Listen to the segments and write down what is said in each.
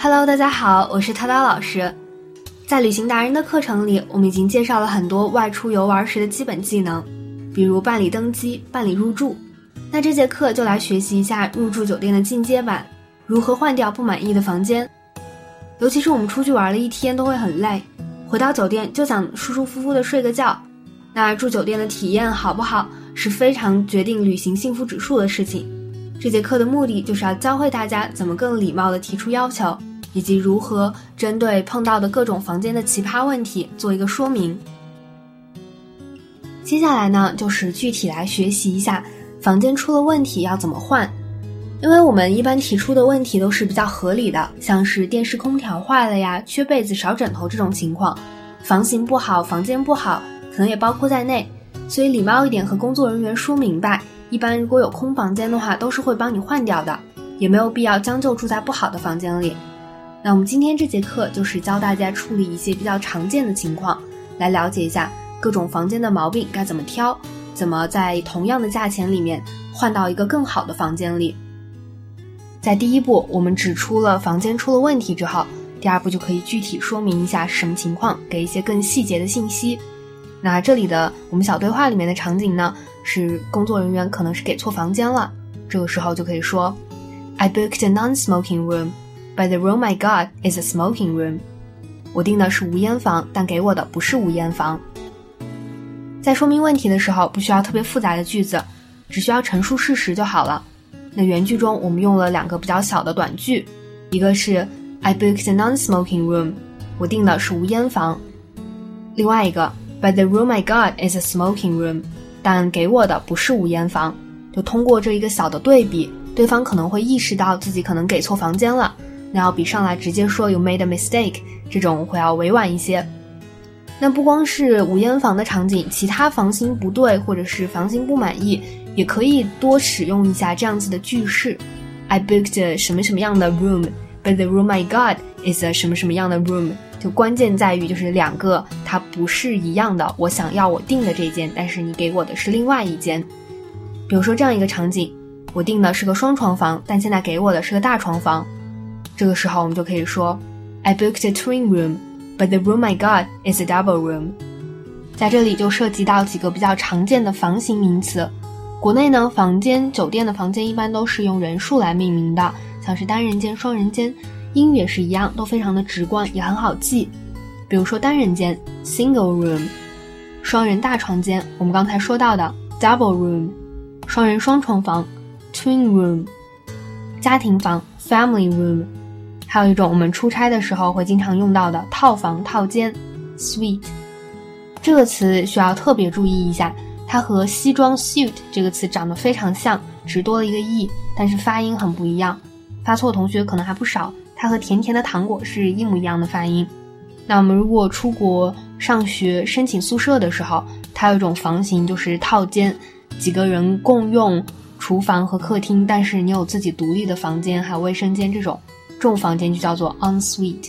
Hello， 大家好，我是涛涛老师。在旅行达人的课程里，我们已经介绍了很多外出游玩时的基本技能，比如办理登机、办理入住。那这节课就来学习一下入住酒店的进阶版，如何换掉不满意的房间。尤其是我们出去玩了一天都会很累，回到酒店就想舒舒服服的睡个觉。那住酒店的体验好不好，是非常决定旅行幸福指数的事情。这节课的目的就是要教会大家怎么更礼貌地提出要求，以及如何针对碰到的各种房间的奇葩问题做一个说明。接下来呢，就是具体来学习一下房间出了问题要怎么换。因为我们一般提出的问题都是比较合理的，像是电视空调坏了呀、缺被子少枕头这种情况，房型不好、房间不好可能也包括在内，所以礼貌一点和工作人员说明白，一般如果有空房间的话都是会帮你换掉的，也没有必要将就住在不好的房间里。那我们今天这节课就是教大家处理一些比较常见的情况，来了解一下各种房间的毛病该怎么挑，怎么在同样的价钱里面换到一个更好的房间里。在第一步我们指出了房间出了问题之后，第二步就可以具体说明一下是什么情况，给一些更细节的信息。那这里的我们小对话里面的场景呢，是工作人员可能是给错房间了，这个时候就可以说 I booked a non-smoking room, but the room I got is a smoking room. 我订的是无烟房，但给我的不是无烟房。在说明问题的时候不需要特别复杂的句子，只需要陈述事实就好了。那原句中我们用了两个比较小的短句，一个是 I booked a non-smoking room, 我订的是无烟房。另外一个But the room I got is a smoking room. 但给我的不是无烟房。就通过这一个小的对比，对方可能会意识到自己可能给错房间了，那要比上来直接说 You made a mistake 这种会要委婉一些。那不光是无烟房的场景，其他房型不对或者是房型不满意，也可以多使用一下这样子的句式。I booked a 什么什么样的 room, but the room I got is a 什么什么样的 room。就关键在于就是两个它不是一样的，我想要我订的这间，但是你给我的是另外一间。比如说这样一个场景，我订的是个双床房，但现在给我的是个大床房。这个时候我们就可以说 I booked a twin room, but the room I got is a double room. 在这里就涉及到几个比较常见的房型名词。国内呢，酒店的房间一般都是用人数来命名的，像是单人间、双人间，英语也是一样，都非常的直观，也很好记。比如说单人间 single room， 双人大床间我们刚才说到的 double room， 双人双床房 twin room， 家庭房 family room， 还有一种我们出差的时候会经常用到的套房套间 suite。 这个词需要特别注意一下，它和西装 suit 这个词长得非常像，只多了一个 e， 但是发音很不一样，发错同学可能还不少，它和甜甜的糖果是一模一样的发音。那我们如果出国上学申请宿舍的时候，它有一种房型就是套间，几个人共用厨房和客厅，但是你有自己独立的房间还有卫生间，这种房间就叫做 ensuite。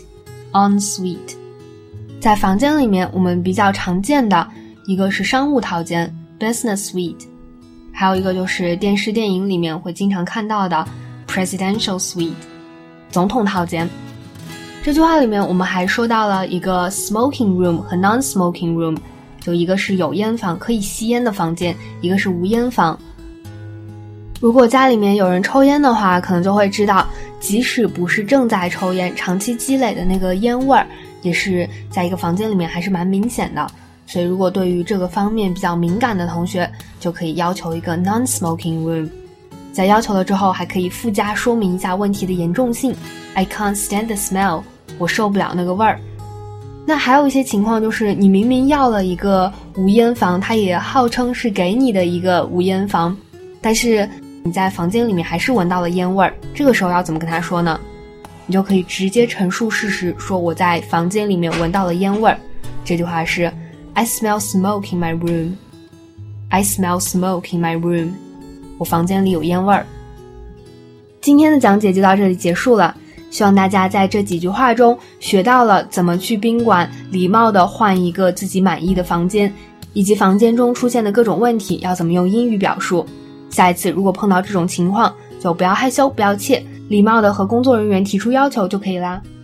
在房间里面我们比较常见的一个是商务套间 business suite， 还有一个就是电视电影里面会经常看到的 presidential suite， 总统套间。这句话里面我们还说到了一个 smoking room 和 non-smoking room， 就一个是有烟房可以吸烟的房间，一个是无烟房。如果家里面有人抽烟的话，可能就会知道，即使不是正在抽烟，长期积累的那个烟味儿也是在一个房间里面还是蛮明显的。所以如果对于这个方面比较敏感的同学，就可以要求一个 non-smoking room。在要求了之后还可以附加说明一下问题的严重性， I can't stand the smell， 我受不了那个味儿。那还有一些情况就是你明明要了一个无烟房，它也号称是给你的一个无烟房，但是你在房间里面还是闻到了烟味儿，这个时候要怎么跟他说呢？你就可以直接陈述事实，说我在房间里面闻到了烟味儿。这句话是 I smell smoke in my room， I smell smoke in my room， 我房间里有烟味儿。今天的讲解就到这里结束了，希望大家在这几句话中学到了怎么去宾馆礼貌地换一个自己满意的房间，以及房间中出现的各种问题要怎么用英语表述。下一次如果碰到这种情况，就不要害羞不要怯， 礼貌的和工作人员提出要求就可以啦。